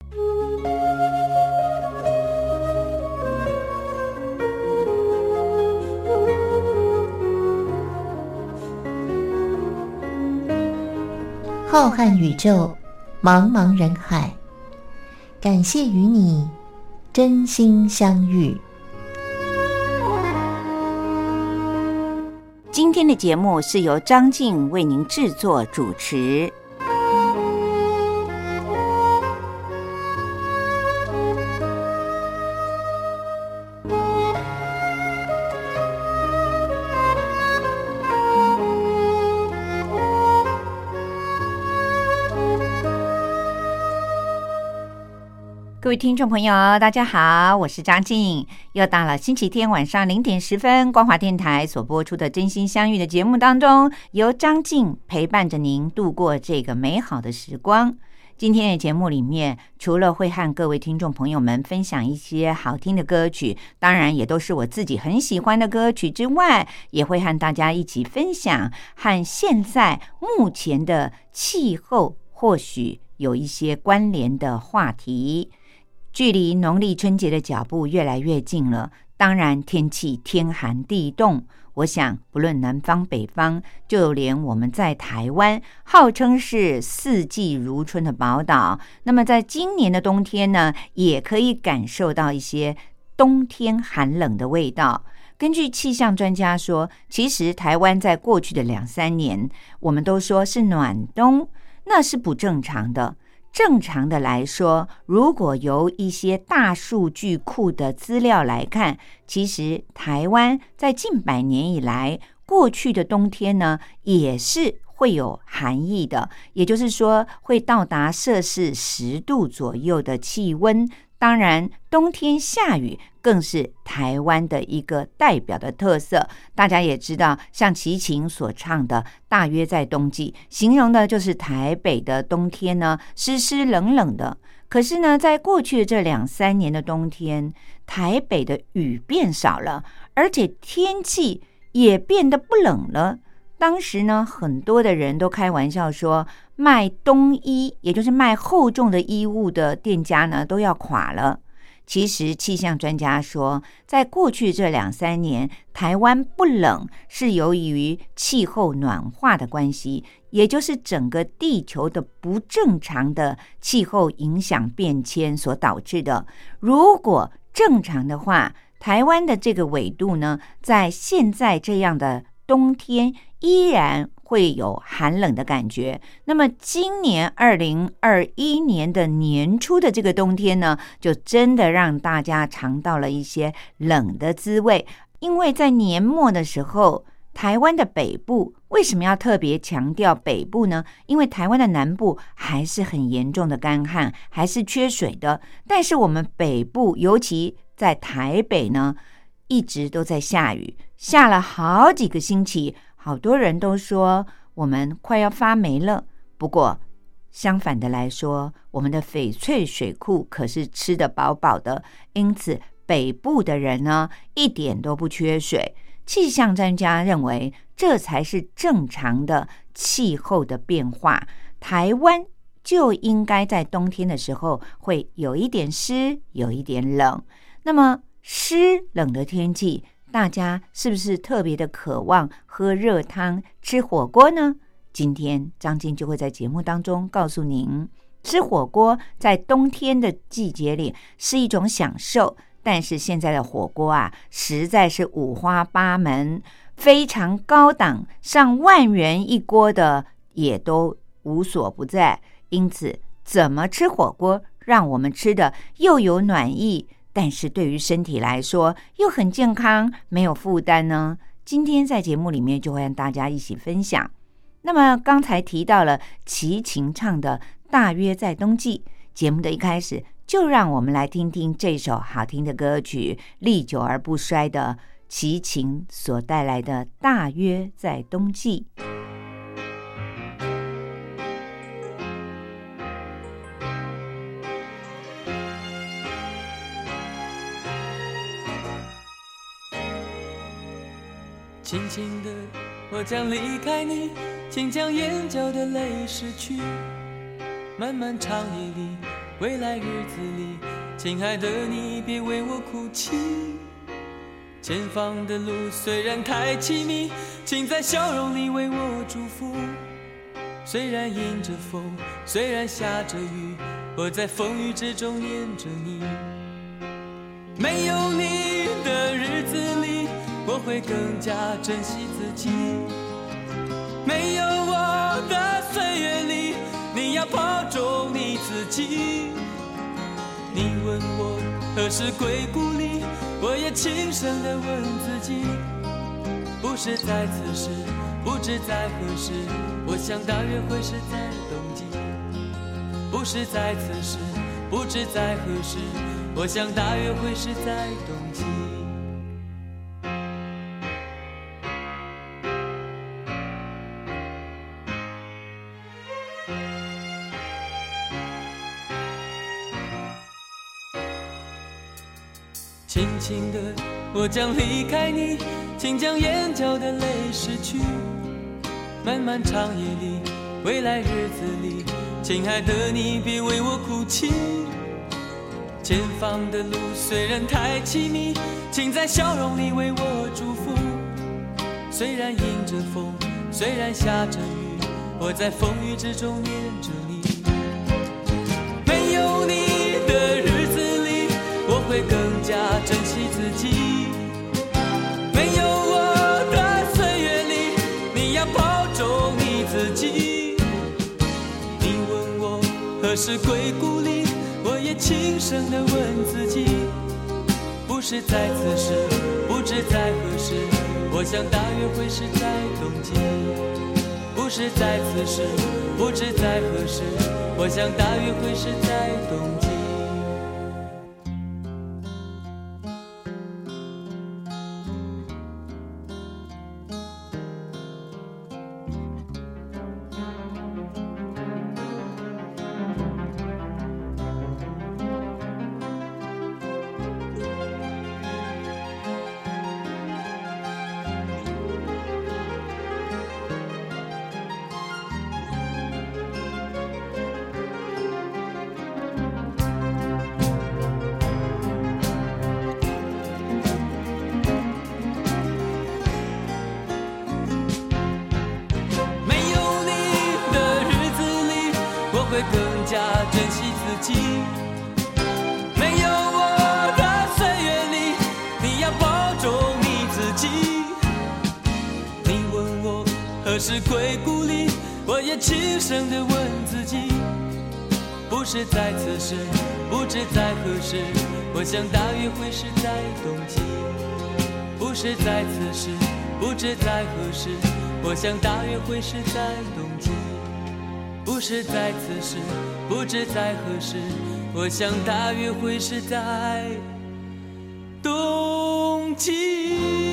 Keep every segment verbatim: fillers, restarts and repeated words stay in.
浩瀚宇宙，茫茫人海，感谢与你真心相遇。 今天的节目是由张静为您制作主持。各位听众朋友大家好，我是张静，又到了星期天晚上零点十分光华电台所播出的真心相遇的节目当中，由张静陪伴着您度过这个美好的时光。今天的节目里面，除了会和各位听众朋友们分享一些好听的歌曲，当然也都是我自己很喜欢的歌曲之外，也会和大家一起分享和现在目前的气候或许有一些关联的话题。距离农历春节的脚步越来越近了，当然天气天寒地冻，我想不论南方北方，就连我们在台湾号称是四季如春的宝岛，那么在今年的冬天呢，也可以感受到一些冬天寒冷的味道。根据气象专家说，其实台湾在过去的两三年，我们都说是暖冬，那是不正常的。正常的来说，如果由一些大数据库的资料来看，其实台湾在近百年以来，过去的冬天呢，也是会有寒意的，也就是说会到达摄氏十度左右的气温。当然冬天下雨更是台湾的一个代表的特色。大家也知道，像齐秦所唱的大约在冬季，形容的就是台北的冬天呢，湿湿冷冷的。可是呢，在过去的这两三年的冬天，台北的雨变少了，而且天气也变得不冷了。当时呢，很多的人都开玩笑说，卖冬衣，也就是卖厚重的衣物的店家呢，都要垮了。其实气象专家说，在过去这两三年，台湾不冷是由于气候暖化的关系，也就是整个地球的不正常的气候影响变迁所导致的。如果正常的话，台湾的这个纬度呢，在现在这样的冬天依然会有寒冷的感觉。那么今年二零二一年的年初的这个冬天呢，就真的让大家尝到了一些冷的滋味。因为在年末的时候，台湾的北部为什么要特别强调北部呢？因为台湾的南部还是很严重的干旱，还是缺水的。但是我们北部，尤其在台北呢，一直都在下雨，下了好几个星期，好多人都说我们快要发霉了。不过相反的来说，我们的翡翠水库可是吃得饱饱的，因此北部的人呢，一点都不缺水。气象专家认为，这才是正常的气候的变化。台湾就应该在冬天的时候会有一点湿，有一点冷。那么湿冷的天气，大家是不是特别的渴望喝热汤、吃火锅呢？今天张静就会在节目当中告诉您，吃火锅在冬天的季节里是一种享受，但是现在的火锅啊，实在是五花八门，非常高档，上万元一锅的也都无所不在。因此，怎么吃火锅让我们吃的又有暖意，但是对于身体来说又很健康，没有负担呢？今天在节目里面就会和大家一起分享。那么刚才提到了齐秦唱的大约在冬季，节目的一开始就让我们来听听这首好听的歌曲，历久而不衰的齐秦所带来的大约在冬季。 轻轻的我将离开你，请将眼角的泪拭去，漫漫长夜里未来日子里，亲爱的你别为我哭泣。前方的路虽然太凄迷，请在笑容里为我祝福。虽然迎着风，虽然下着雨，我在风雨之中念着你。没有你的日子里，我会更加珍惜自己。没有我的岁月里，你要保重你自己。你问我何时归故里，我也轻声地问自己。不是在此时，不知在何时，我想大约会是在冬季。不是在此时，不知在何时，我想大约会是在冬季。轻轻的，我将离开你，请将眼角的泪拭去。漫漫长夜里，未来日子里，亲爱的你别为我哭泣。前方的路虽然太凄迷，请在笑容里为我祝福。虽然迎着风，虽然下着雨，我在风雨之中念着你。没有你的日子里，我会更加珍惜自己。没有我的岁月里，你要保重你自己。你问我何时归故里，我也轻声地问自己。不是在此时，不知在何时，我想大约会是在冬季。不是在此时，不知在何时，我想大约会是在冬季。会更加珍惜自己。没有我的岁月里，你要保重你自己。你问我何时归故里，我也轻声地问自己。不是在此时，不知在何时，我想大约会是在冬季。不是在此时，不知在何时，我想大约会是在冬季。不是在此时，不知在何时，我想大约会是在冬季。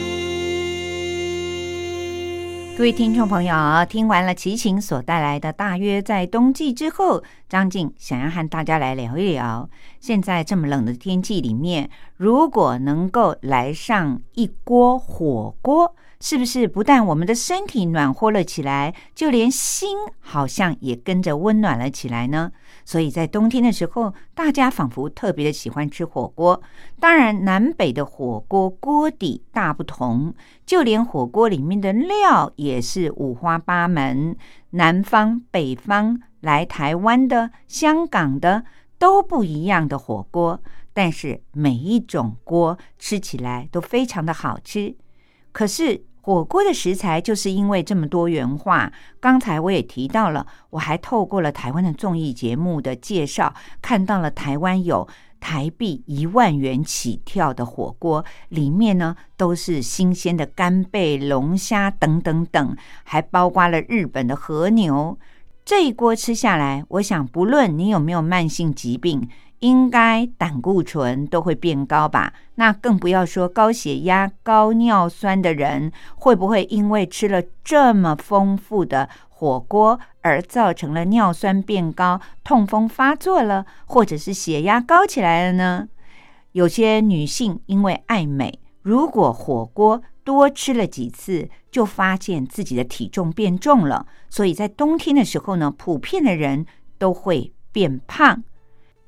各位听众朋友，听完了齐秦所带来的大约在冬季之后，张静想要和大家来聊一聊，现在这么冷的天气里面，如果能够来上一锅火锅，是不是不但我们的身体暖和了起来，就连心好像也跟着温暖了起来呢？所以在冬天的时候，大家仿佛特别的喜欢吃火锅。当然南北的火锅锅底大不同，就连火锅里面的料也是五花八门，南方北方来台湾的香港的都不一样的火锅，但是每一种锅吃起来都非常的好吃。可是火锅的食材就是因为这么多元化，刚才我也提到了，我还透过了台湾的综艺节目的介绍，看到了台湾有台币一万元起跳的火锅，里面呢都是新鲜的干贝、龙虾等等等，还包括了日本的和牛。这一锅吃下来，我想不论你有没有慢性疾病，应该胆固醇都会变高吧？那更不要说高血压、高尿酸的人，会不会因为吃了这么丰富的火锅而造成了尿酸变高、痛风发作了，或者是血压高起来了呢？有些女性因为爱美，如果火锅多吃了几次，就发现自己的体重变重了，所以在冬天的时候呢，普遍的人都会变胖。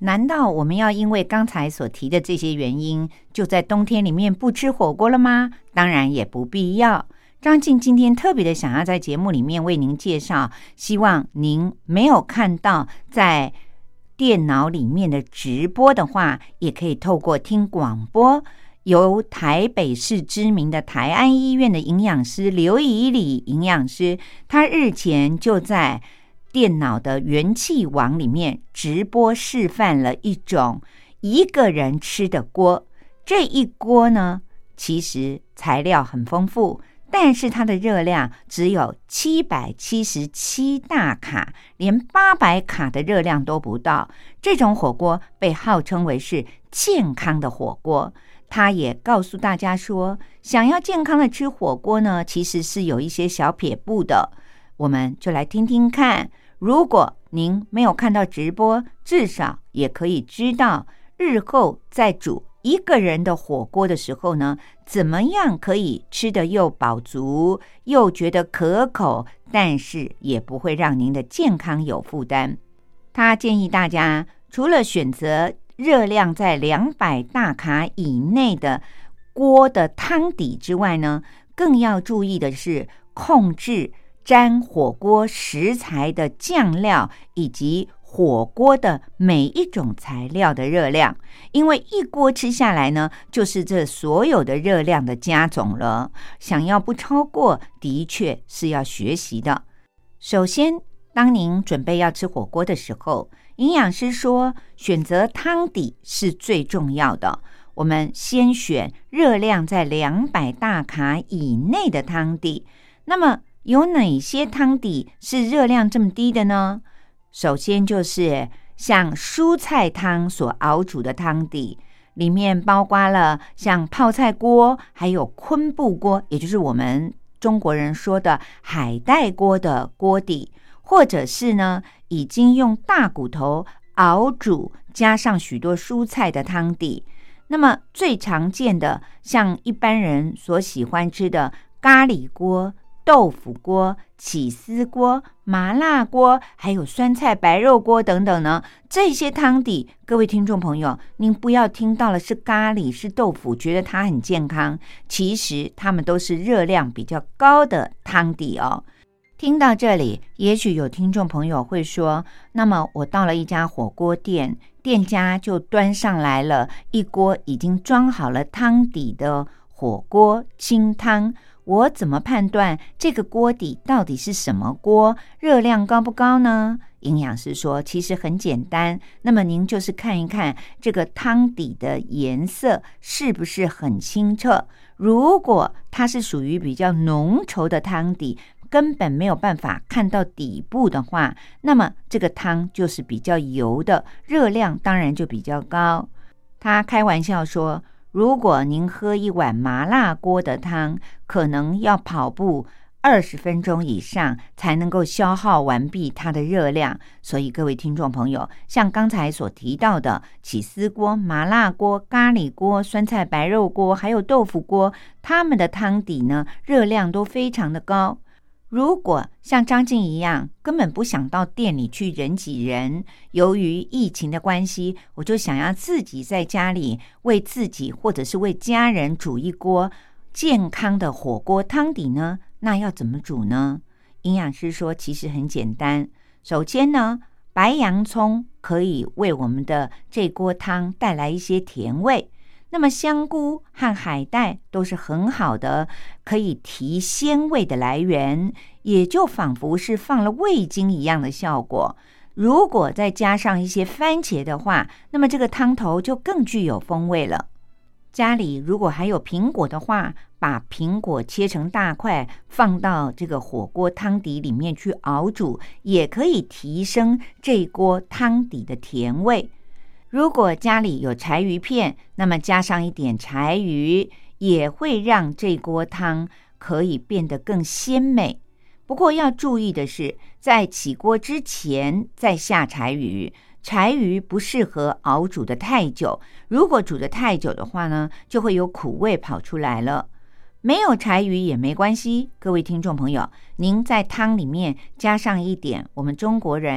难道我们要因为刚才所提的这些原因，就在冬天里面不吃火锅了吗？当然也不必要。张静今天特别的想要在节目里面为您介绍，希望您没有看到在电脑里面的直播的话，也可以透过听广播，由台北市知名的台安医院的营养师刘以礼营养师，他日前就在电脑的元气网里面直播示范了一种一个人吃的锅。这一锅呢，其实材料很丰富，但是它的热量只有七百七十七大卡，连八百卡的热量都不到。这种火锅被号称为是健康的火锅。他也告诉大家说，想要健康的吃火锅呢，其实是有一些小撇步的。我们就来听听看，如果您没有看到直播，至少也可以知道日后在煮一个人的火锅的时候呢，怎么样可以吃得又饱足，又觉得可口，但是也不会让您的健康有负担。他建议大家除了选择热量在两百大卡以内的锅的汤底之外呢，更要注意的是控制沾火锅食材的酱料以及火锅的每一种材料的热量，因为一锅吃下来呢，就是这所有的热量的加总了。想要不超过，的确是要学习的。首先，当您准备要吃火锅的时候，营养师说选择汤底是最重要的。我们先选热量在两百大卡以内的汤底。那么有哪些汤底是热量这么低的呢？首先就是像蔬菜汤所熬煮的汤底，里面包括了像泡菜锅，还有昆布锅，也就是我们中国人说的海带锅的锅底，或者是呢已经用大骨头熬煮加上许多蔬菜的汤底。那么最常见的，像一般人所喜欢吃的咖喱锅、豆腐锅、起司锅、麻辣锅，还有酸菜白肉锅等等呢，这些汤底，各位听众朋友，您不要听到了是咖喱是豆腐觉得它很健康，其实它们都是热量比较高的汤底哦。听到这里，也许有听众朋友会说，那么我到了一家火锅店，店家就端上来了一锅已经装好了汤底的火锅清汤，我怎么判断这个锅底到底是什么锅，热量高不高呢？营养师说其实很简单，那么您就是看一看这个汤底的颜色是不是很清澈。如果它是属于比较浓稠的汤底，根本没有办法看到底部的话，那么这个汤就是比较油的，热量当然就比较高。他开玩笑说，如果您喝一碗麻辣锅的汤，可能要跑步二十分钟以上才能够消耗完毕它的热量。所以各位听众朋友，像刚才所提到的起司锅、麻辣锅、咖喱锅、酸菜白肉锅还有豆腐锅，它们的汤底呢，热量都非常的高。如果像张静一样根本不想到店里去人挤人，由于疫情的关系，我就想要自己在家里为自己或者是为家人煮一锅健康的火锅汤底呢，那要怎么煮呢？营养师说其实很简单。首先呢，白洋葱可以为我们的这锅汤带来一些甜味，那么香菇和海带都是很好的可以提鲜味的来源，也就仿佛是放了味精一样的效果。如果再加上一些番茄的话，那么这个汤头就更具有风味了。家里如果还有苹果的话，把苹果切成大块放到这个火锅汤底里面去熬煮，也可以提升这锅汤底的甜味。如果家里有柴鱼片，那么加上一点柴鱼，也会让这锅汤可以变得更鲜美。不过要注意的是，在起锅之前再下柴鱼，柴鱼不适合熬煮的太久，如果煮得太久的话呢，就会有苦味跑出来了。没有柴鱼也没关系，各位听众朋友，您在汤里面加上一点我们中国人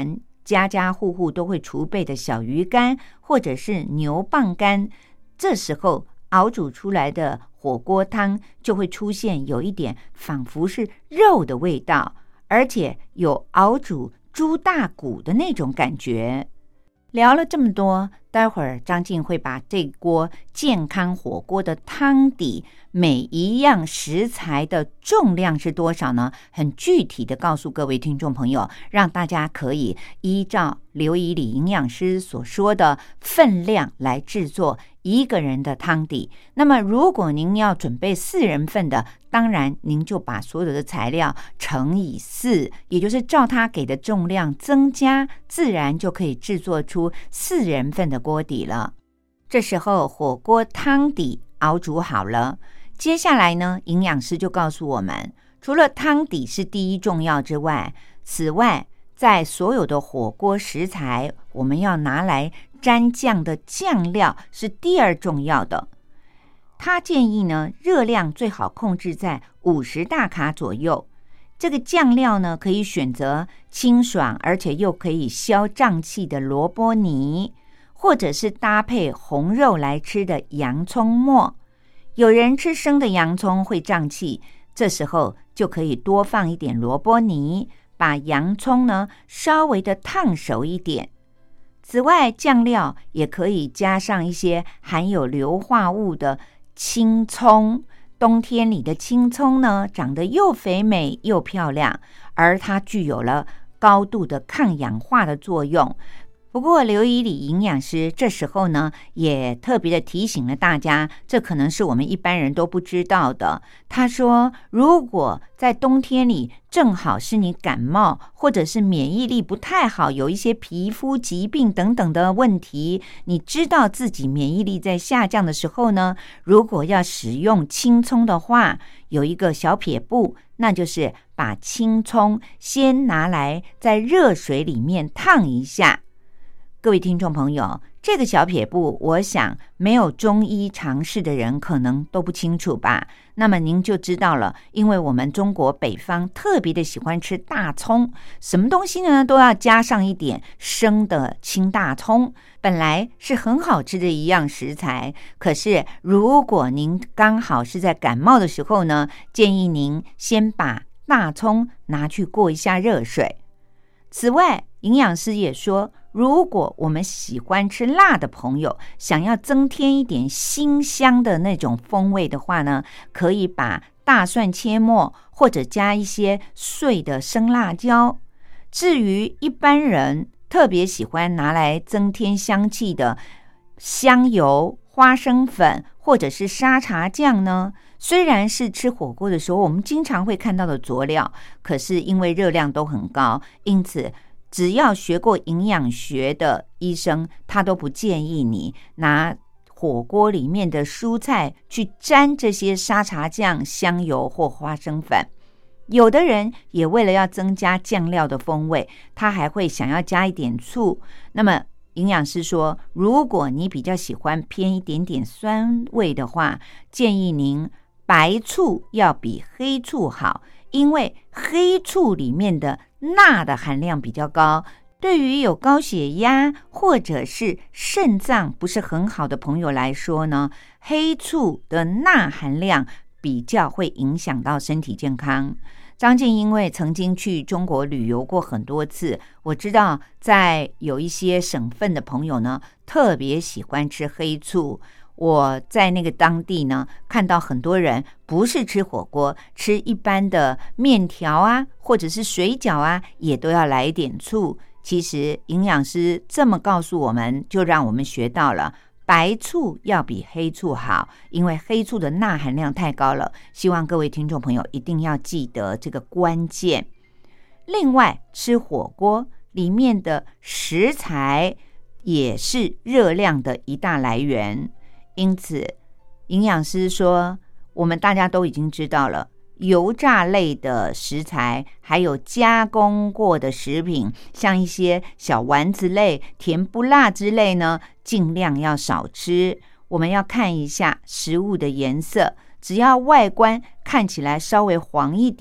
家家户户都会储备的小鱼干或者是牛蒡干，这时候熬煮出来的火锅汤就会出现有一点仿佛是肉的味道，而且有熬煮猪大骨的那种感觉。聊了这么多，待会儿张静会把这锅健康火锅的汤底每一样食材的重量是多少呢？很具体的告诉各位听众朋友，让大家可以依照刘以礼营养师所说的分量来制作一个人的汤底。那么如果您要准备四人份的，当然您就把所有的材料乘以四，也就是照他给的重量增加，自然就可以制作出四人份的锅底了。这时候火锅汤底熬煮好了，接下来呢，营养师就告诉我们，除了汤底是第一重要之外，此外在所有的火锅食材，我们要拿来沾酱的酱料是第二重要的。他建议呢，热量最好控制在五十大卡左右。这个酱料呢，可以选择清爽而且又可以消胀气的萝卜泥，或者是搭配红肉来吃的洋葱末。有人吃生的洋葱会胀气，这时候就可以多放一点萝卜泥，把洋葱呢稍微的烫熟一点。此外，酱料也可以加上一些含有硫化物的青葱。冬天里的青葱呢，长得又肥美又漂亮，而它具有了高度的抗氧化的作用。不过刘以礼营养师这时候呢，也特别的提醒了大家，这可能是我们一般人都不知道的。他说，如果在冬天里正好是你感冒，或者是免疫力不太好，有一些皮肤疾病等等的问题，你知道自己免疫力在下降的时候呢，如果要使用青葱的话，有一个小撇步，那就是把青葱先拿来在热水里面烫一下。各位听众朋友，这个小撇步，我想没有中医常识的人可能都不清楚吧。那么您就知道了，因为我们中国北方特别的喜欢吃大葱，什么东西呢都要加上一点生的青大葱，本来是很好吃的一样食材。可是如果您刚好是在感冒的时候呢，建议您先把大葱拿去过一下热水。此外，营养师也说，如果我们喜欢吃辣的朋友，想要增添一点辛香的那种风味的话呢，可以把大蒜切末，或者加一些碎的生辣椒。至于一般人特别喜欢拿来增添香气的香油、花生粉或者是沙茶酱呢，虽然是吃火锅的时候我们经常会看到的佐料，可是因为热量都很高，因此只要学过营养学的医生，他都不建议你拿火锅里面的蔬菜去沾这些沙茶酱、香油或花生粉。有的人也为了要增加酱料的风味，他还会想要加一点醋。那么营养师说，如果你比较喜欢偏一点点酸味的话，建议您白醋要比黑醋好，因为黑醋里面的钠的含量比较高，对于有高血压或者是肾脏不是很好的朋友来说呢，黑醋的钠含量比较会影响到身体健康。张静因为曾经去中国旅游过很多次，我知道在有一些省份的朋友呢，特别喜欢吃黑醋。我在那个当地呢，看到很多人不是吃火锅，吃一般的面条啊，或者是水饺啊，也都要来一点醋。其实营养师这么告诉我们，就让我们学到了白醋要比黑醋好，因为黑醋的钠含量太高了。希望各位听众朋友一定要记得这个关键。另外，吃火锅里面的食材也是热量的一大来源。因此营养师说，我们大家都已经知道了，油炸类的食材还有加工过的食品，像一些小丸子类、甜不辣之类呢，尽量要少吃。我们要看一下食物的颜色，只要外观看起来稍微黄一点，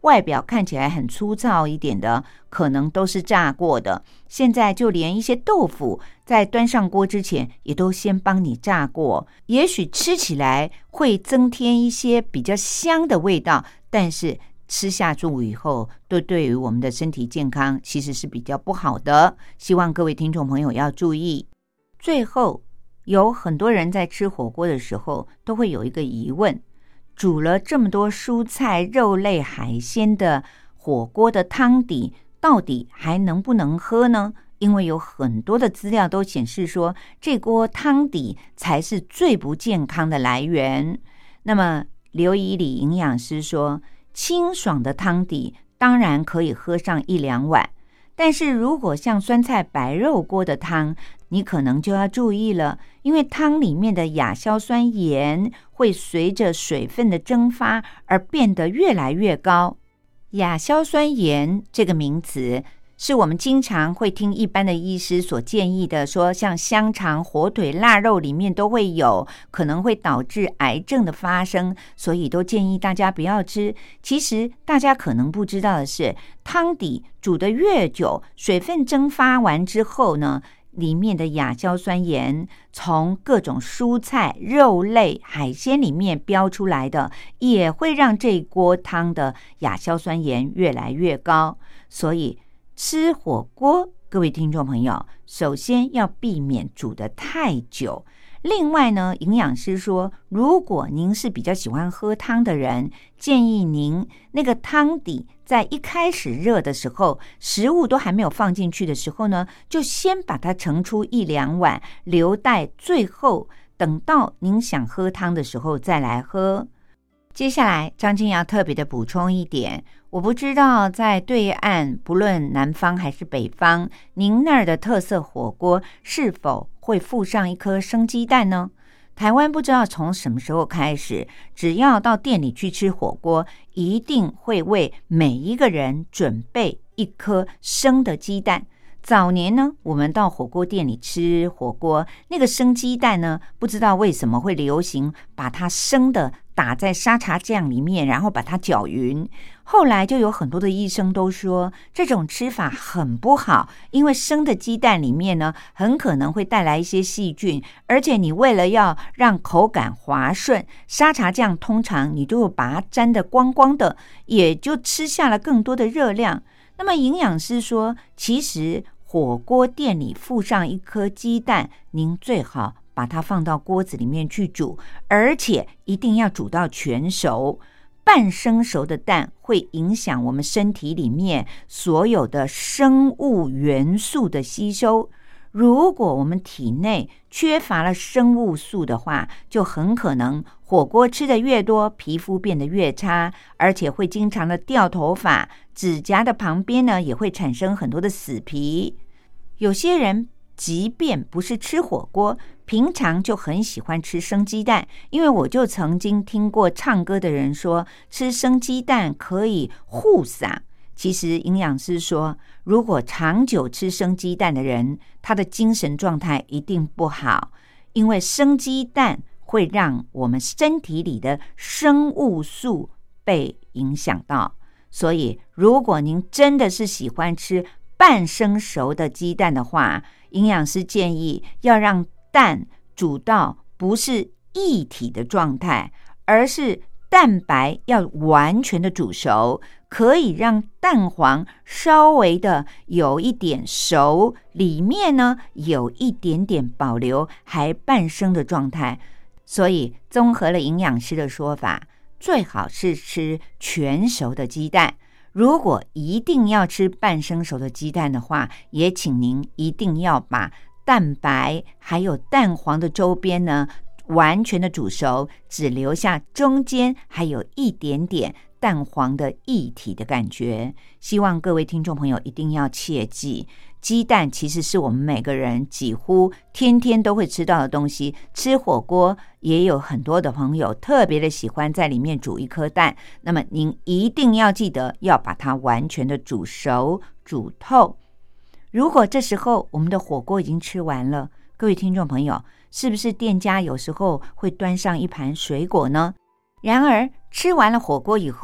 外表看起来很粗糙一点的，可能都是炸过的。现在就连一些豆腐在端上锅之前也都先帮你炸过，也许吃起来会增添一些比较香的味道，但是吃下肚以后，都对于我们的身体健康其实是比较不好的。希望各位听众朋友要注意。最后，有很多人在吃火锅的时候都会有一个疑问，煮了这么多蔬菜、肉类、海鲜的火锅的汤底，到底还能不能喝呢？因为有很多的资料都显示说，这锅汤底才是最不健康的来源。那么刘以礼营养师说，清爽的汤底当然可以喝上一两碗，但是如果像酸菜白肉锅的汤，你可能就要注意了，因为汤里面的亚硝酸盐会随着水分的蒸发而变得越来越高。亚硝酸盐这个名词是我们经常会听一般的医师所建议的，说像香肠、火腿、腊肉里面都会有，可能会导致癌症的发生，所以都建议大家不要吃。其实大家可能不知道的是，汤底煮得越久，水分蒸发完之后呢，里面的亚硝酸盐从各种蔬菜、肉类、海鲜里面标出来的，也会让这锅汤的亚硝酸盐越来越高。所以吃火锅，各位听众朋友，首先要避免煮得太久。另外呢，营养师说，如果您是比较喜欢喝汤的人，建议您那个汤底在一开始热的时候，食物都还没有放进去的时候呢，就先把它盛出一两碗，留待最后等到您想喝汤的时候再来喝。接下来张静要特别的补充一点，我不知道在对岸，不论南方还是北方，您那儿的特色火锅是否会附上一颗生鸡蛋呢？台湾不知道从什么时候开始，只要到店里去吃火锅，一定会为每一个人准备一颗生的鸡蛋。早年呢，我们到火锅店里吃火锅，那个生鸡蛋呢，不知道为什么会流行把它生的打在沙茶酱里面，然后把它搅匀。后来就有很多的医生都说，这种吃法很不好，因为生的鸡蛋里面呢，很可能会带来一些细菌，而且你为了要让口感滑顺，沙茶酱通常你就把它沾得光光的，也就吃下了更多的热量。那么营养师说，其实火锅店里附上一颗鸡蛋，您最好把它放到锅子里面去煮，而且一定要煮到全熟。半生熟的蛋会影响我们身体里面所有的生物元素的吸收。如果我们体内缺乏了生物素的话，就很可能火锅吃得越多，皮肤变得越差，而且会经常的掉头发，指甲的旁边呢也会产生很多的死皮。有些人即便不是吃火锅，平常就很喜欢吃生鸡蛋，因为我就曾经听过唱歌的人说，吃生鸡蛋可以护嗓。其实营养师说，如果长久吃生鸡蛋的人，他的精神状态一定不好，因为生鸡蛋会让我们身体里的生物素被影响到。所以如果您真的是喜欢吃半生熟的鸡蛋的话，营养师建议要让蛋煮到不是液体的状态，而是蛋白要完全的煮熟，可以让蛋黄稍微的有一点熟，里面呢有一点点保留还半生的状态。所以综合了营养师的说法，最好是吃全熟的鸡蛋。如果一定要吃半生熟的鸡蛋的话，也请您一定要把蛋白还有蛋黄的周边呢完全的煮熟，只留下中间还有一点点蛋黄的液体的感觉。希望各位听众朋友一定要切记，鸡蛋其实是我们每个人几乎天天都会吃到的东西。吃火锅也有很多的朋友特别的喜欢在里面煮一颗蛋，那么您一定要记得要把它完全的煮熟煮透。如果这时候我们的火锅已经吃完了，各位听众朋友，是不是店家有时候会端上一盘水果呢？然而吃完了火锅以后，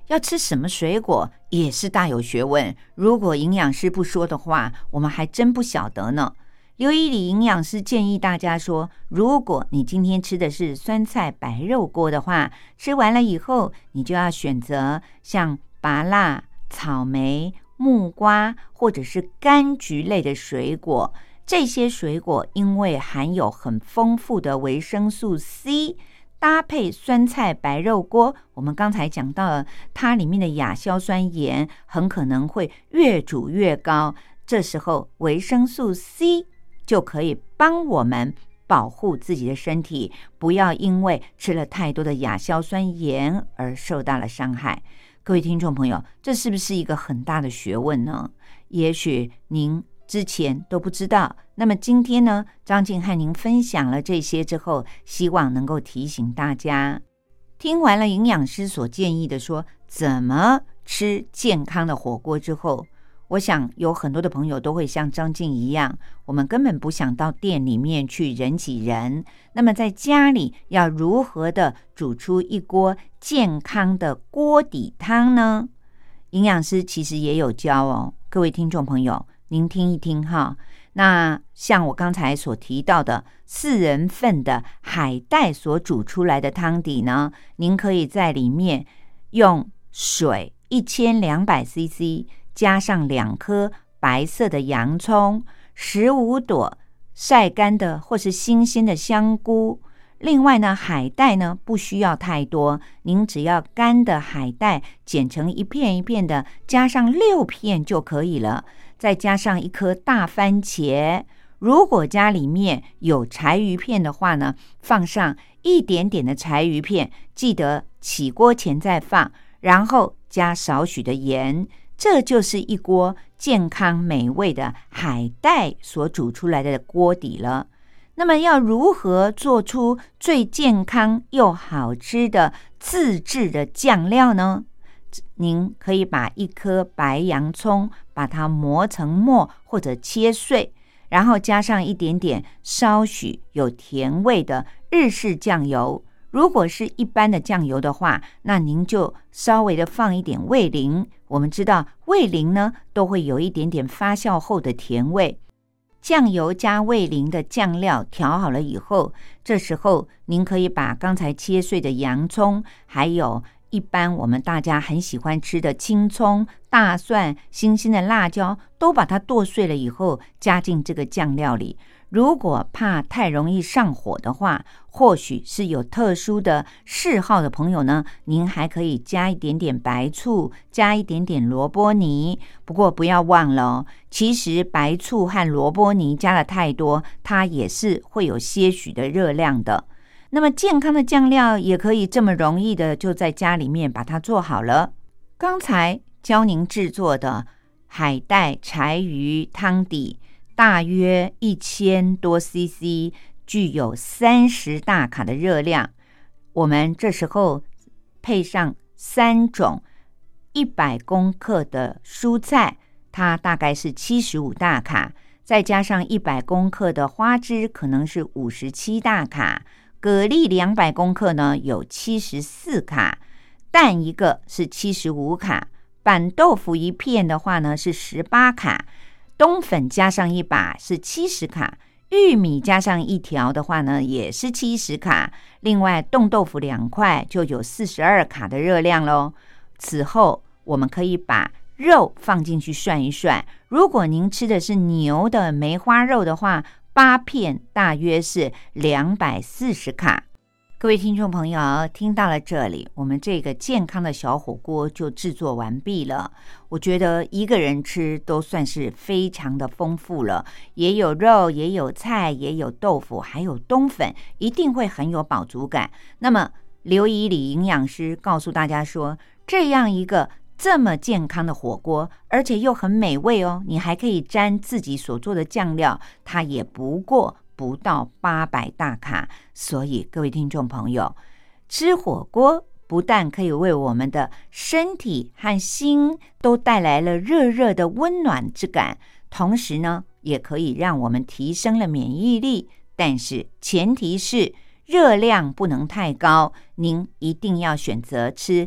要吃什么水果也是大有学问，如果营养师不说的话，我们还真不晓得呢。刘以礼营养师建议大家说，如果你今天吃的是酸菜白肉锅的话，吃完了以后，你就要选择像芭乐、草莓、木瓜或者是柑橘类的水果。这些水果因为含有很丰富的维生素 C， 搭配酸菜白肉锅，我们刚才讲到了它里面的亚硝酸盐很可能会越煮越高，这时候维生素 C就可以帮我们保护自己的身体，不要因为吃了太多的亚硝酸盐而受到了伤害。各位听众朋友，这是不是一个很大的学问呢？也许您之前都不知道，那么今天呢，张静和您分享了这些之后，希望能够提醒大家，听完了营养师所建议的说怎么吃健康的火锅之后，我想有很多的朋友都会像张静一样，我们根本不想到店里面去人挤人，那么在家里要如何的煮出一锅健康的锅底汤呢？营养师其实也有教哦，各位听众朋友您听一听哈。那像我刚才所提到的四人份的海带所煮出来的汤底呢，您可以在里面用水一千两百 C C，加上两颗白色的洋葱，十五朵晒干的或是新鲜的香菇。另外呢，海带呢不需要太多，您只要干的海带剪成一片一片的，加上六片就可以了。再加上一颗大番茄，如果家里面有柴鱼片的话呢，放上一点点的柴鱼片，记得起锅前再放，然后加少许的盐，这就是一锅健康美味的海带所煮出来的锅底了。那么要如何做出最健康又好吃的自制的酱料呢？您可以把一颗白洋葱把它磨成末或者切碎，然后加上一点点稍许有甜味的日式酱油。如果是一般的酱油的话，那您就稍微的放一点味淋。我们知道味淋呢都会有一点点发酵后的甜味。酱油加味淋的酱料调好了以后，这时候您可以把刚才切碎的洋葱，还有一般我们大家很喜欢吃的青葱、大蒜、新鲜的辣椒，都把它剁碎了以后加进这个酱料里。如果怕太容易上火的话，或许是有特殊的嗜好的朋友呢，您还可以加一点点白醋，加一点点萝卜泥。不过不要忘了哦，其实白醋和萝卜泥加了太多，它也是会有些许的热量的。那么健康的酱料也可以这么容易的就在家里面把它做好了。刚才教您制作的海带柴鱼汤底大约一千多 C C， 具有三十大卡的热量。我们这时候配上三种一百公克的蔬菜，它大概是七十五大卡，再加上一百公克的花枝，可能是五十七大卡。蛤蜊两百公克呢有七十四卡，蛋一个是七十五卡，板豆腐一片的话呢是十八卡，冬粉加上一把是七十卡，玉米加上一条的话呢也是七十卡，另外冻豆腐两块就有四十二卡的热量咯。此后我们可以把肉放进去涮一涮，如果您吃的是牛的梅花肉的话，八片大约是两百四十卡。各位听众朋友，听到了这里，我们这个健康的小火锅就制作完毕了。我觉得一个人吃都算是非常的丰富了，也有肉，也有菜，也有豆腐，还有冬粉，一定会很有饱足感。那么刘以礼营养师告诉大家说，这样一个这么健康的火锅，而且又很美味哦，你还可以沾自己所做的酱料，它也不过不到八百大卡。所以各位听众朋友，吃火锅不但可以为我们的身体和心都带来了热热的温暖之感，同时呢也可以让我们提升了免疫力，但是前提是热量不能太高，您一定要选择吃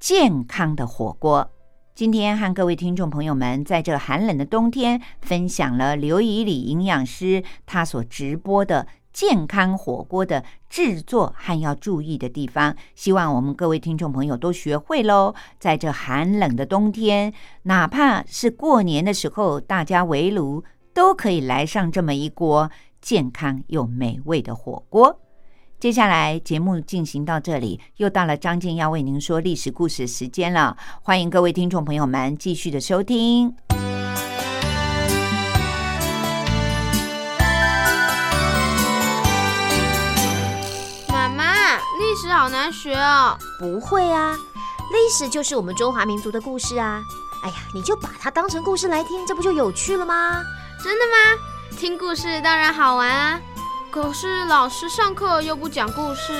健康的火锅。今天和各位听众朋友们在这寒冷的冬天分享了刘以礼营养师他所直播的健康火锅的制作和要注意的地方，希望我们各位听众朋友都学会咯。在这寒冷的冬天，哪怕是过年的时候大家围炉，都可以来上这么一锅健康又美味的火锅。接下来节目进行到这里，又到了张静要为您说历史故事的时间了，欢迎各位听众朋友们继续的收听。 妈妈，历史好难学哦。 不会啊，历史就是我们中华民族的故事啊。哎呀，你就把它当成故事来听，这不就有趣了吗？ 真的吗？听故事当然好玩啊。可是老师上课又不讲故事。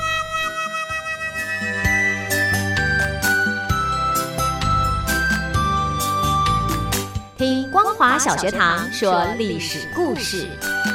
听光华小学堂说历史故事。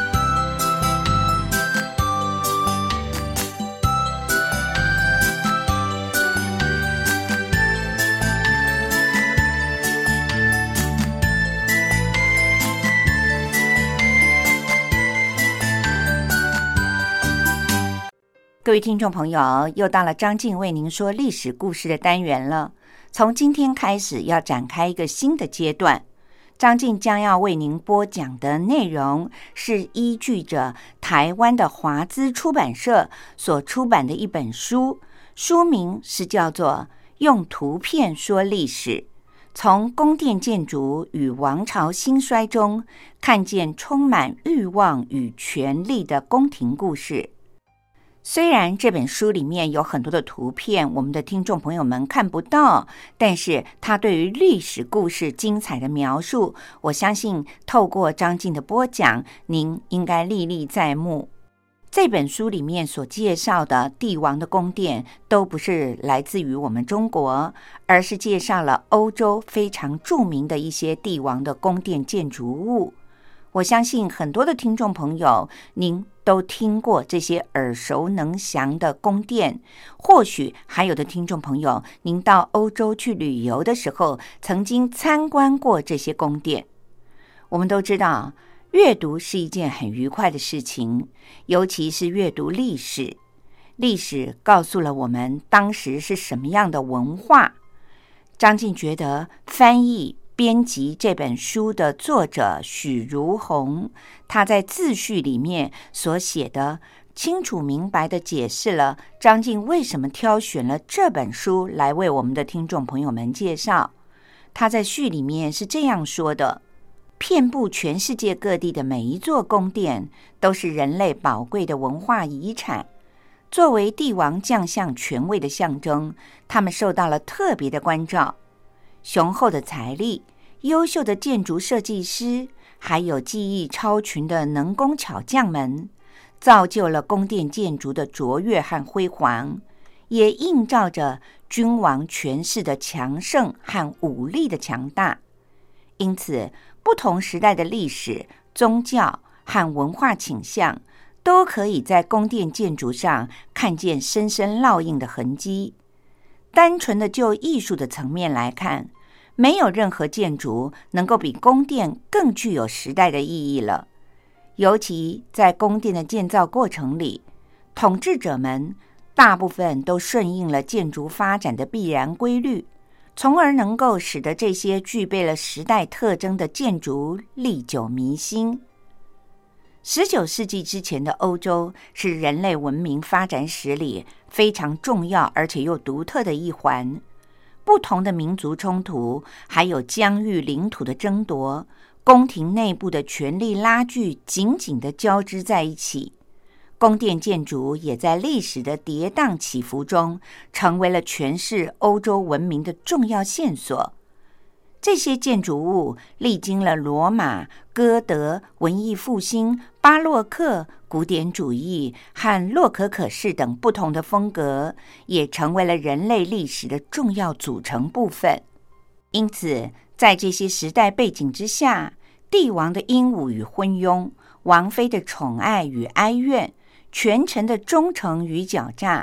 各位听众朋友，又到了张静为您说历史故事的单元了。从今天开始要展开一个新的阶段，张静将要为您播讲的内容是依据着台湾的华资出版社所出版的一本书，书名是叫做《用图片说历史：从宫殿建筑与王朝兴衰中看见充满欲望与权力的宫廷故事》。虽然这本书里面有很多的图片，我们的听众朋友们看不到，但是它对于历史故事精彩的描述，我相信透过张静的播讲，您应该历历在目。这本书里面所介绍的帝王的宫殿，都不是来自于我们中国，而是介绍了欧洲非常著名的一些帝王的宫殿建筑物。我相信很多的听众朋友，您都听过这些耳熟能详的宫殿，或许还有的听众朋友，您到欧洲去旅游的时候，曾经参观过这些宫殿。我们都知道，阅读是一件很愉快的事情，尤其是阅读历史。历史告诉了我们当时是什么样的文化。张静觉得翻译编辑这本书的作者许如红，他在自序里面所写的，清楚明白地解释了张静为什么挑选了这本书来为我们的听众朋友们介绍。他在序里面是这样说的：遍布全世界各地的每一座宫殿，都是人类宝贵的文化遗产。作为帝王将相权位的象征，他们受到了特别的关照。雄厚的财力、优秀的建筑设计师，还有技艺超群的能工巧匠们，造就了宫殿建筑的卓越和辉煌，也映照着君王权势的强盛和武力的强大。因此，不同时代的历史、宗教和文化倾向，都可以在宫殿建筑上看见深深烙印的痕迹。单纯的就艺术的层面来看，没有任何建筑能够比宫殿更具有时代的意义了。尤其在宫殿的建造过程里，统治者们大部分都顺应了建筑发展的必然规律，从而能够使得这些具备了时代特征的建筑历久弥新。十九世纪之前的欧洲是人类文明发展史里非常重要而且又独特的一环。不同的民族冲突，还有疆域领土的争夺，宫廷内部的权力拉锯紧紧地交织在一起。宫殿建筑也在历史的跌宕起伏中，成为了诠释欧洲文明的重要线索。这些建筑物历经了罗马、哥德、文艺复兴、巴洛克、古典主义和洛可可式等不同的风格，也成为了人类历史的重要组成部分。因此，在这些时代背景之下，帝王的英武与昏庸，王妃的宠爱与哀怨，权臣的忠诚与狡诈，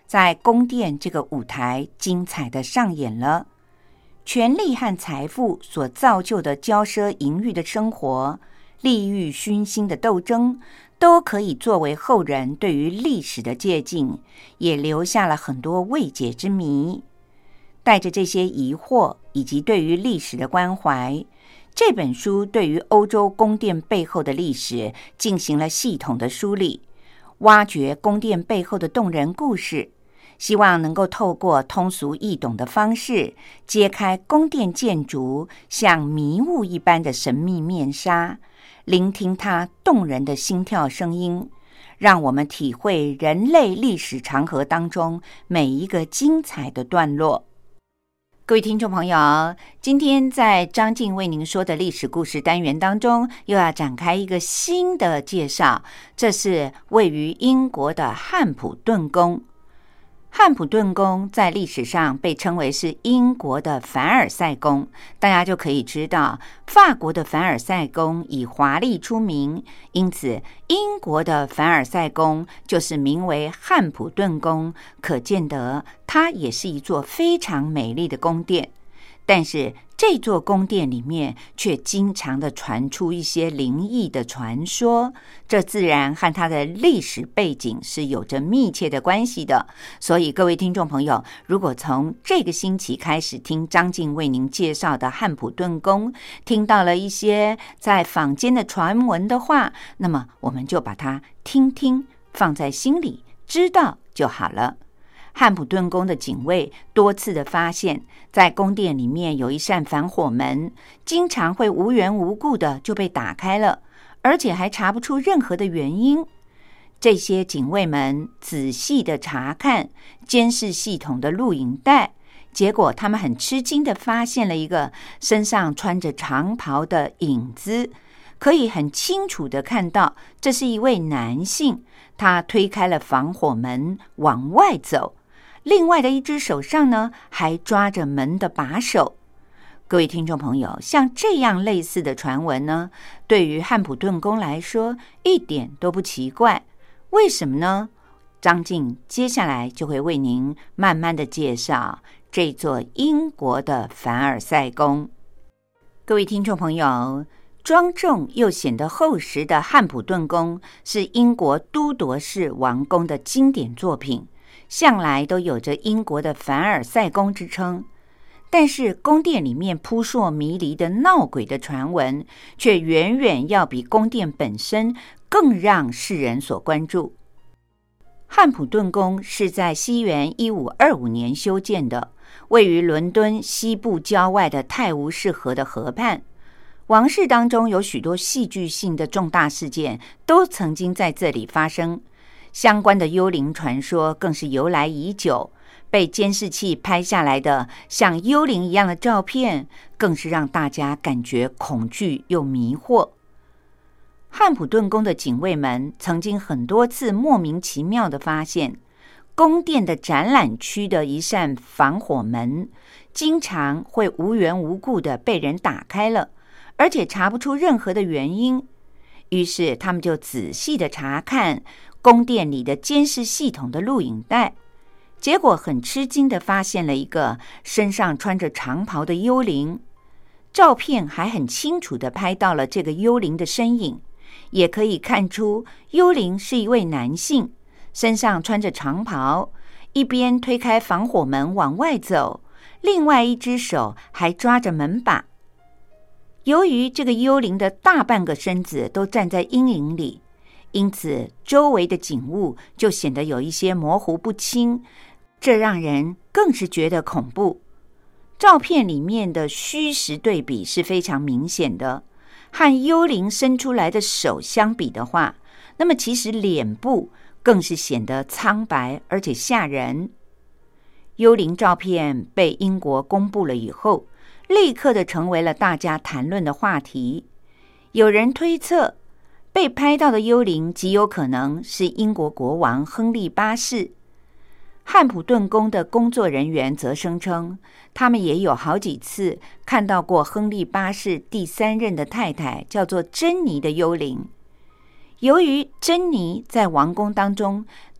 在宫殿这个舞台精彩的上演了。权力和财富所造就的骄奢淫欲的生活，利欲熏心的斗争，都可以作为后人对于历史的借鉴，也留下了很多未解之谜。带着这些疑惑以及对于历史的关怀，这本书对于欧洲宫殿背后的历史进行了系统的梳理，挖掘宫殿背后的动人故事，希望能够透过通俗易懂的方式，揭开宫殿建筑像迷雾一般的神秘面纱，聆听它动人的心跳声音，让我们体会人类历史长河当中每一个精彩的段落。各位听众朋友，今天在张静为您说的历史故事单元当中，又要展开一个新的介绍，这是位于英国的汉普顿宫。汉普顿宫在历史上被称为是英国的凡尔赛宫，大家就可以知道法国的凡尔赛宫以华丽出名，因此英国的凡尔赛宫就是名为汉普顿宫，可见得它也是一座非常美丽的宫殿。但是这座宫殿里面却经常的传出一些灵异的传说，这自然和它的历史背景是有着密切的关系的。所以各位听众朋友，如果从这个星期开始听张静为您介绍的汉普顿宫，听到了一些在坊间的传闻的话，那么我们就把它听听，放在心里，知道就好了。汉普顿宫的警卫多次的发现，在宫殿里面有一扇防火门，经常会无缘无故的就被打开了，而且还查不出任何的原因。这些警卫们仔细的查看监视系统的录影带，结果他们很吃惊的发现了一个身上穿着长袍的影子，可以很清楚的看到这是一位男性，他推开了防火门往外走，另外的一只手上呢，还抓着门的把手。各位听众朋友，像这样类似的传闻呢，对于汉普顿宫来说一点都不奇怪。为什么呢？张静接下来就会为您慢慢的介绍这座英国的凡尔赛宫。各位听众朋友，庄重又显得厚实的汉普顿宫是英国都铎式王宫的经典作品，向来都有着英国的凡尔赛宫之称。但是宫殿里面扑朔迷离的闹鬼的传闻，却远远要比宫殿本身更让世人所关注。汉普顿宫是在西元一五二五年修建的，位于伦敦西部郊外的泰晤士河的河畔。王室当中有许多戏剧性的重大事件都曾经在这里发生，相关的幽灵传说更是由来已久，被监视器拍下来的像幽灵一样的照片，更是让大家感觉恐惧又迷惑。汉普顿宫的警卫们曾经很多次莫名其妙地发现，宫殿的展览区的一扇防火门经常会无缘无故地被人打开了，而且查不出任何的原因。于是他们就仔细地查看宫殿里的监视系统的录影带，结果很吃惊地发现了一个身上穿着长袍的幽灵，照片还很清楚地拍到了这个幽灵的身影，也可以看出幽灵是一位男性，身上穿着长袍，一边推开防火门往外走，另外一只手还抓着门把。由于这个幽灵的大半个身子都站在阴影里，因此周围的景物就显得有一些模糊不清，这让人更是觉得恐怖。照片里面的虚实对比是非常明显的，和幽灵伸出来的手相比的话，那么其实脸部更是显得苍白而且吓人。幽灵照片被英国公布了以后，立刻的成为了大家谈论的话题。有人推测，被拍到的幽灵极有可能是英国国王亨利八世。汉普顿宫的工作人员则声称，他们也有好几次看到过亨利八世第三任的太太叫做珍妮的幽灵。由于珍妮在王宫当中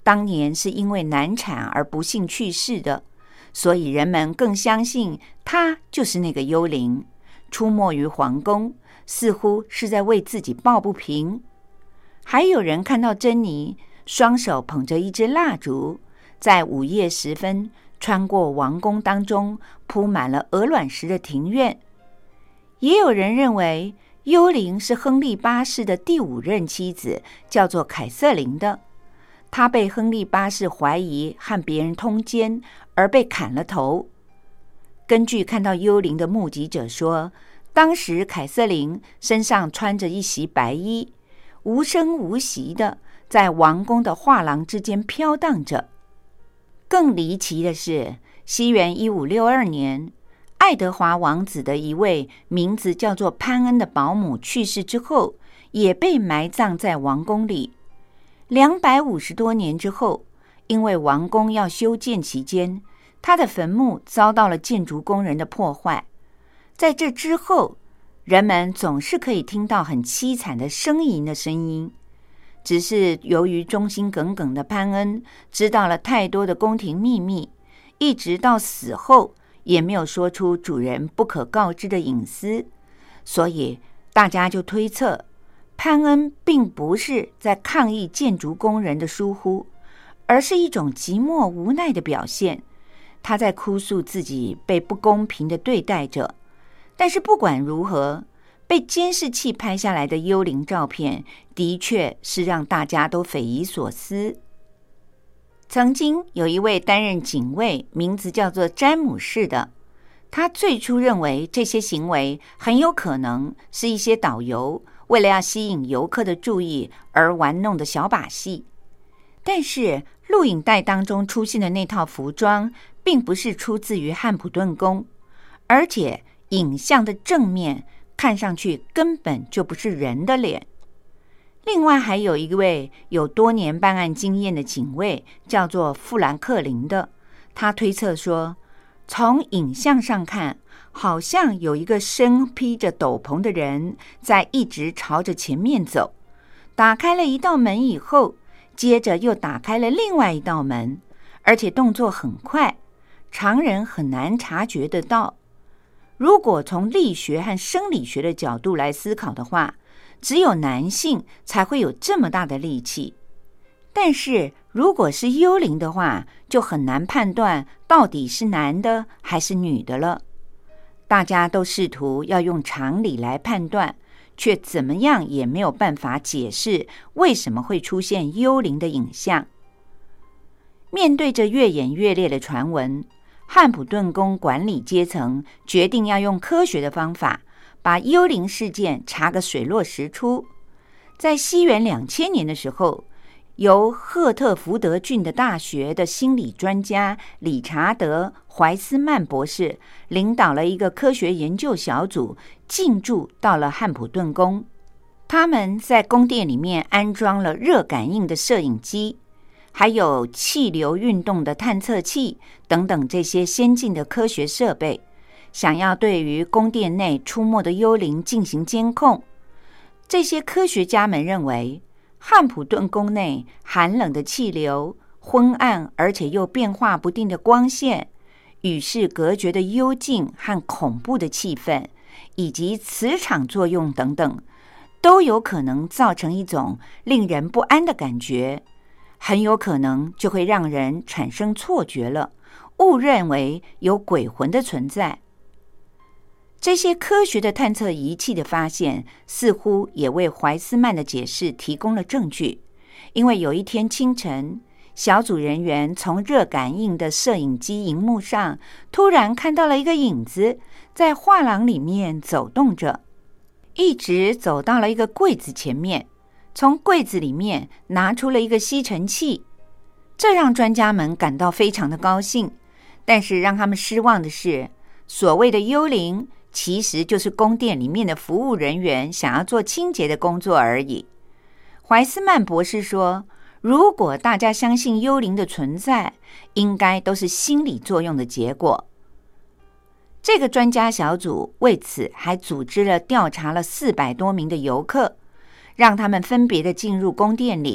当年是因为难产而不幸去世的，所以人们更相信他就是那个幽灵，出没于皇宫，似乎是在为自己抱不平。还有人看到珍妮双手捧着一支蜡烛，在午夜时分穿过王宫当中铺满了鹅卵石的庭院。也有人认为幽灵是亨利八世的第五任妻子，叫做凯瑟琳的。她被亨利八世怀疑和别人通奸而被砍了头。根据看到幽灵的目击者说，当时凯瑟琳身上穿着一袭白衣，无声无息的在王宫的画廊之间飘荡着。更离奇的是，西元一五六二年，爱德华王子的一位名字叫做潘恩的保姆去世之后，也被埋葬在王宫里。两百五十多年之后，因为王宫要修建期间，他的坟墓遭到了建筑工人的破坏。在这之后，人们总是可以听到很凄惨的呻吟的声音。只是由于忠心耿耿的潘恩知道了太多的宫廷秘密，一直到死后也没有说出主人不可告知的隐私，所以大家就推测潘恩并不是在抗议建筑工人的疏忽，而是一种寂寞无奈的表现。他在哭诉自己被不公平的对待着。但是不管如何，被监视器拍下来的幽灵照片的确是让大家都匪夷所思。曾经有一位担任警卫，名字叫做詹姆士的，他最初认为这些行为很有可能是一些导游为了要吸引游客的注意而玩弄的小把戏。但是录影带当中出现的那套服装并不是出自于汉普顿宫，而且影像的正面看上去根本就不是人的脸。另外还有一位有多年办案经验的警卫，叫做富兰克林的，他推测说，从影像上看，好像有一个身披着斗篷的人在一直朝着前面走，打开了一道门以后，接着又打开了另外一道门，而且动作很快，常人很难察觉得到。如果从力学和生理学的角度来思考的话，只有男性才会有这么大的力气。但是如果是幽灵的话，就很难判断到底是男的还是女的了。大家都试图要用常理来判断，却怎么样也没有办法解释为什么会出现幽灵的影像。面对着越演越烈的传闻，汉普顿宫管理阶层决定要用科学的方法把幽灵事件查个水落石出。在西元两千年的时候，由赫特福德郡的大学的心理专家理查德·怀斯曼博士领导了一个科学研究小组进驻到了汉普顿宫。他们在宫殿里面安装了热感应的摄影机，还有气流运动的探测器等等这些先进的科学设备，想要对于宫殿内出没的幽灵进行监控。这些科学家们认为，汉普顿宫内寒冷的气流、昏暗而且又变化不定的光线、与世隔绝的幽静和恐怖的气氛，以及磁场作用等等，都有可能造成一种令人不安的感觉，很有可能就会让人产生错觉了，误认为有鬼魂的存在。这些科学的探测仪器的发现，似乎也为怀斯曼的解释提供了证据。因为有一天清晨，小组人员从热感应的摄影机荧幕上突然看到了一个影子在画廊里面走动着，一直走到了一个柜子前面，从柜子里面拿出了一个吸尘器。这让专家们感到非常的高兴，但是让他们失望的是，所谓的幽灵其实就是宫殿里面的服务人员想要做清洁的工作而已。怀斯曼博士说，如果大家相信幽灵的存在，应该都是心理作用的结果。这个专家小组为此还组织了调查了四百多名的游客，让他们分别的进入宫殿里，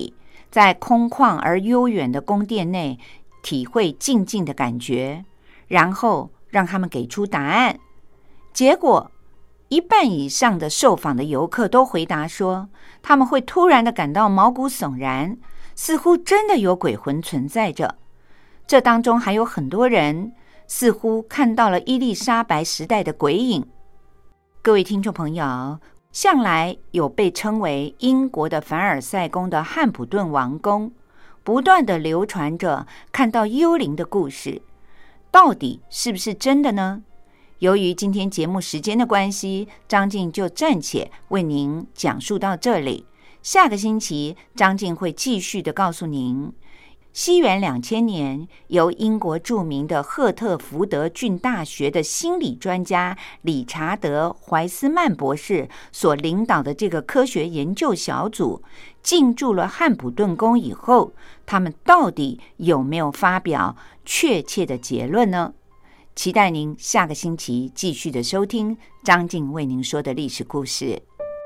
在空旷而悠远的宫殿内体会静静的感觉，然后让他们给出答案。结果一半以上的受访的游客都回答说，他们会突然的感到毛骨悚然，似乎真的有鬼魂存在着。这当中还有很多人似乎看到了伊丽莎白时代的鬼影。各位听众朋友，向来有被称为英国的凡尔赛宫的汉普顿王宫，不断的流传着看到幽灵的故事，到底是不是真的呢？由于今天节目时间的关系，张静就暂且为您讲述到这里。下个星期，张静会继续的告诉您，西元两千年，由英国著名的赫特福德郡大学的心理专家理查德·怀斯曼博士所领导的这个科学研究小组进驻了汉普顿宫以后，他们到底有没有发表确切的结论呢？期待您下个星期继续的收听张静为您说的历史故事。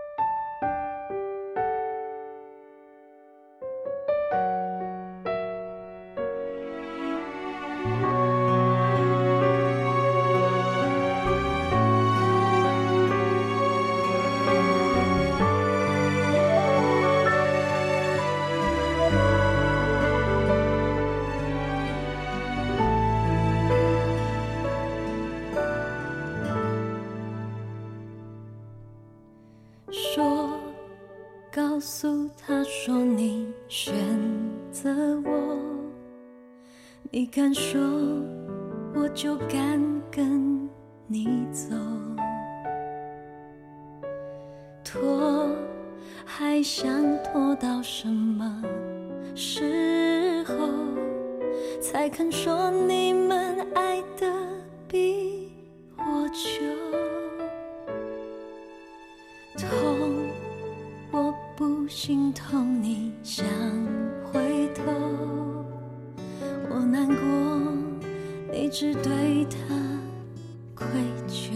说，告诉他说你选择我，你敢说我就敢跟你走，拖还想拖到什么时候才肯说你们爱得比我久？痛，我不心痛，你想回头，我难过，你只对他愧疚。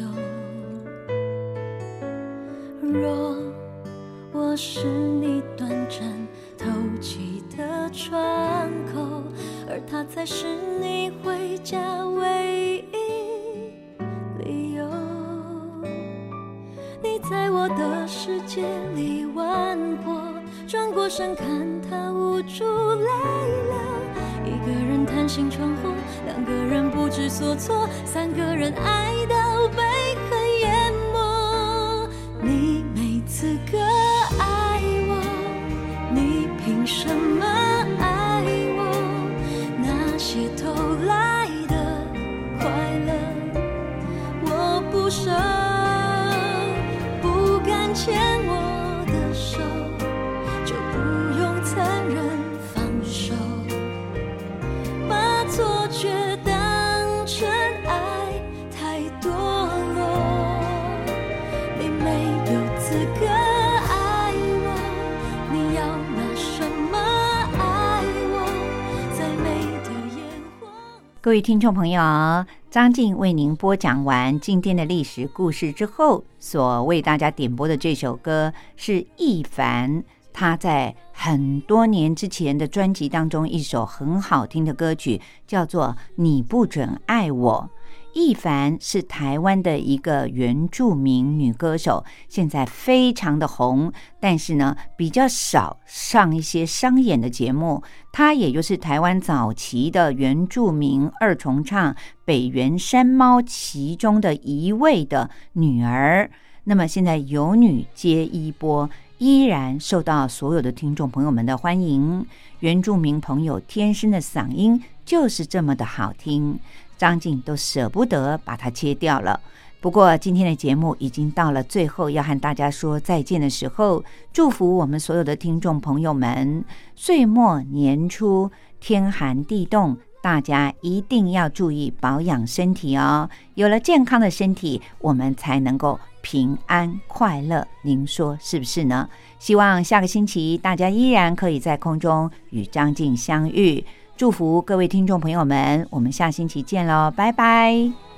若我是你短暂透气的窗口，而他才是你回家唯一理由，你在我的世界里玩过，转过身看他无助泪流，一个人叹息闯祸，两个人不知所措，三个人爱到被恨淹没。你没资格爱我，你凭什么爱我？那些偷来的快乐我不舍，不敢牵我的手，就不用残忍放手，把错觉当成爱太堕落。你没有资格爱我，你要拿什么爱我？再美的烟火。 各位听众朋友，张静为您播讲完今天的历史故事之后，所为大家点播的这首歌是易凡他在很多年之前的专辑当中一首很好听的歌曲，叫做《你不准爱我》。易凡是台湾的一个原住民女歌手，现在非常的红，但是呢比较少上一些商演的节目。她也就是台湾早期的原住民二重唱北原山猫其中的一位的女儿。那么现在有女接衣钵，依然受到所有的听众朋友们的欢迎。原住民朋友天生的嗓音就是这么的好听，张静都舍不得把它切掉了。不过今天的节目已经到了最后要和大家说再见的时候，祝福我们所有的听众朋友们岁末年初天寒地冻，大家一定要注意保养身体哦。有了健康的身体，我们才能够平安快乐，您说是不是呢？希望下个星期大家依然可以在空中与张静相遇。祝福各位听众朋友们，我们下星期见咯，拜拜。